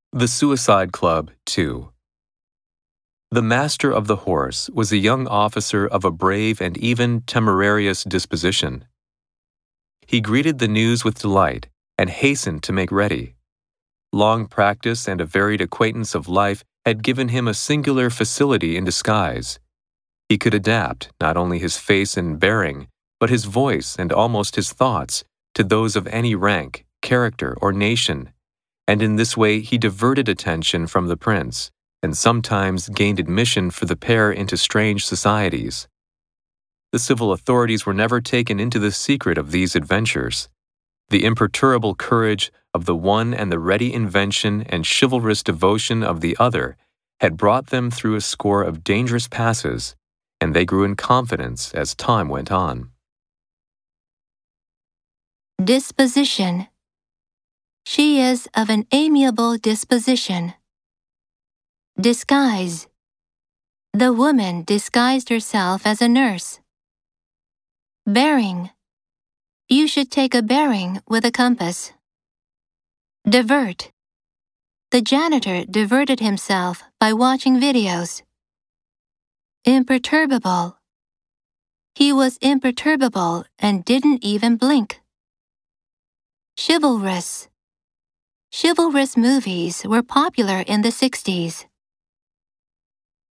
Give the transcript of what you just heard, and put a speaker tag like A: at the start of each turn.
A: The Suicide Club 2. The master of the horse was a young officer of a brave and even temerarious disposition. He greeted the news with delight and hastened to make ready. Long practice and a varied acquaintance of life had given him a singular facility in disguise. He could adapt not only his face and bearing, but his voice and almost his thoughts to those of any rank, character, or nation, and in this way he diverted attention from the prince, and sometimes gained admission for the pair into strange societies. The civil authorities were never taken into the secret of these adventures. The imperturbable courage of the one and the ready invention and chivalrous devotion of the other had brought them through a score of dangerous passes, and they grew in confidence as time went on.
B: Disposition. She is of an amiable disposition. Disguise. The woman disguised herself as a nurse. Bearing. You should take a bearing with a compass. Divert. The janitor diverted himself by watching videos. Imperturbable. He was imperturbable and didn't even blink. Chivalrous. Chivalrous movies were popular in the 60s.